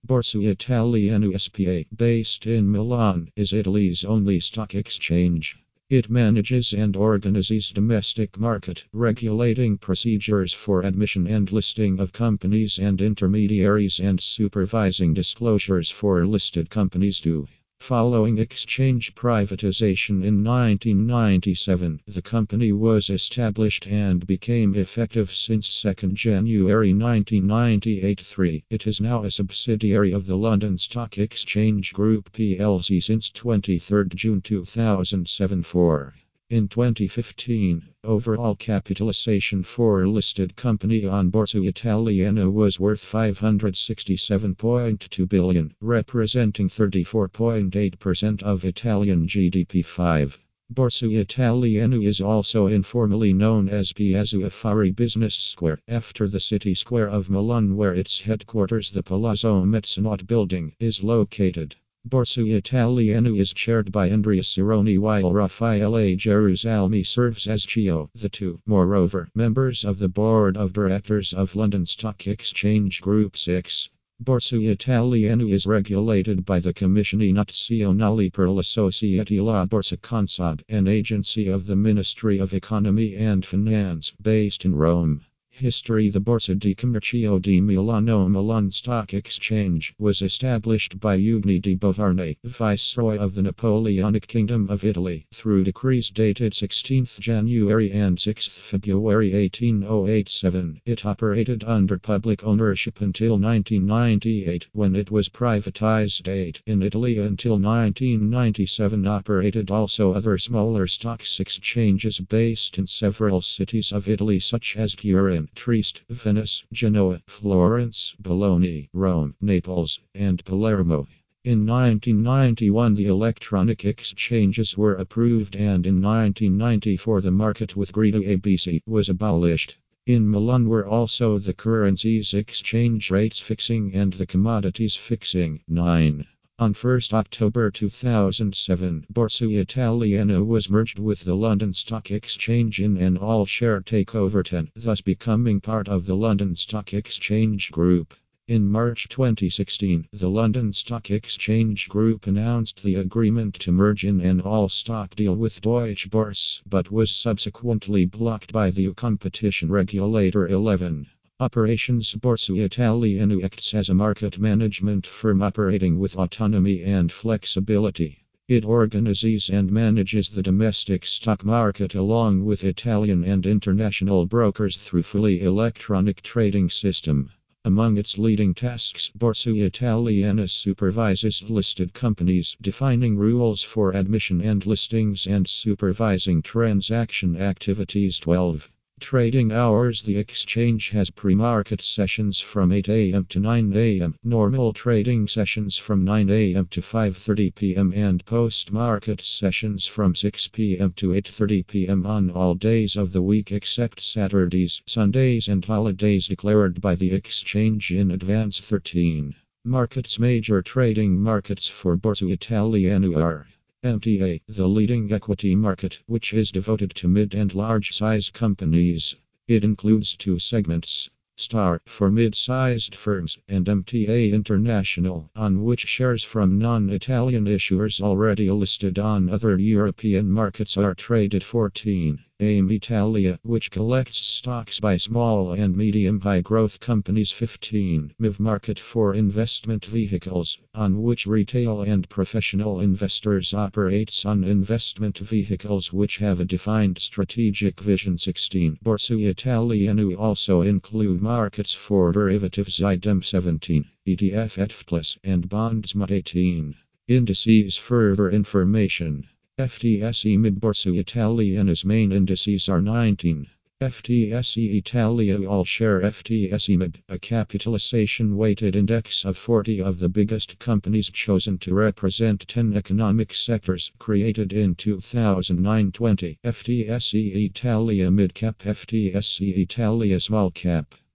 Borsa Italiana SPA, based in Milan, is Italy's only stock exchange. It manages and organizes domestic market, regulating procedures for admission and listing of companies and intermediaries, and supervising disclosures for listed companies too. Following exchange privatization in 1997, the company was established and became effective since 2 January 1998. It is now a subsidiary of the London Stock Exchange Group plc since 23 June 2007. In 2015, overall capitalization for a listed company on Borsa Italiana was worth €567.2 billion, representing 34.8% of Italian GDP. Borsa Italiana is also informally known as Piazza Affari Business Square, after the city square of Milan where its headquarters, the Palazzo Mezzanotte building, is located. Borsa Italiana is chaired by Andrea Cironi while Raffaele Gerusalmi serves as CEO. The two, moreover, members of the board of directors of London Stock Exchange Group 6. Borsa Italiana is regulated by the Commissione Nazionale per la Società La Borsa Consob, an agency of the Ministry of Economy and Finance, based in Rome. History. The Borsa di Commercio di Milano Milan Stock Exchange was established by Eugene di Beauharnais, Viceroy of the Napoleonic Kingdom of Italy, through decrees dated 16 January and 6 February 1807. It operated under public ownership until 1998, when it was privatized. In Italy until 1997 operated also other smaller stocks exchanges based in several cities of Italy such as Turin, Trieste, Venice, Genoa, Florence, Bologna, Rome, Naples, and Palermo. In 1991 the electronic exchanges were approved, and in 1994 the market with Grida ABC was abolished. In Milan were also the currencies exchange rates fixing and the commodities fixing. 9. On 1 October 2007, Borsa Italiana was merged with the London Stock Exchange in an all-share takeover, thus becoming part of the London Stock Exchange Group. In March 2016, the London Stock Exchange Group announced the agreement to merge in an all-stock deal with Deutsche Börse, but was subsequently blocked by the competition regulator. 11. Operations. Borsa Italiana acts as a market management firm operating with autonomy and flexibility. It organizes and manages the domestic stock market along with Italian and international brokers through fully electronic trading system. Among its leading tasks, Borsa Italiana supervises listed companies, defining rules for admission and listings, and supervising transaction activities. 12. Trading hours. The exchange has pre-market sessions from 8 a.m. to 9 a.m., normal trading sessions from 9 a.m. to 5:30 p.m., and post-market sessions from 6 p.m. to 8:30 p.m. on all days of the week except Saturdays, Sundays, and holidays declared by the exchange in advance. 13. Markets. Major trading markets for Borsa Italiana are MTA, the leading equity market, which is devoted to mid and large-size companies. It includes two segments: STAR, for mid-sized firms, and MTA International, on which shares from non-Italian issuers already listed on other European markets are traded. 14. AIM Italia, which collects stocks by small and medium high-growth companies. 15. MIV Market, for investment vehicles, on which retail and professional investors operates on investment vehicles which have a defined strategic vision. 16. Borsa Italiana also include markets for derivatives. IDEM. 17. ETF F+, and bonds. 18. Indices. Further information. FTSE MIB. Borsa Italiana's main indices are 19. FTSE Italia All-Share. FTSE MIB, a capitalization-weighted index of 40 of the biggest companies chosen to represent 10 economic sectors, created in 2009. 20. FTSE Italia Mid Cap. FTSE Italia Small Cap.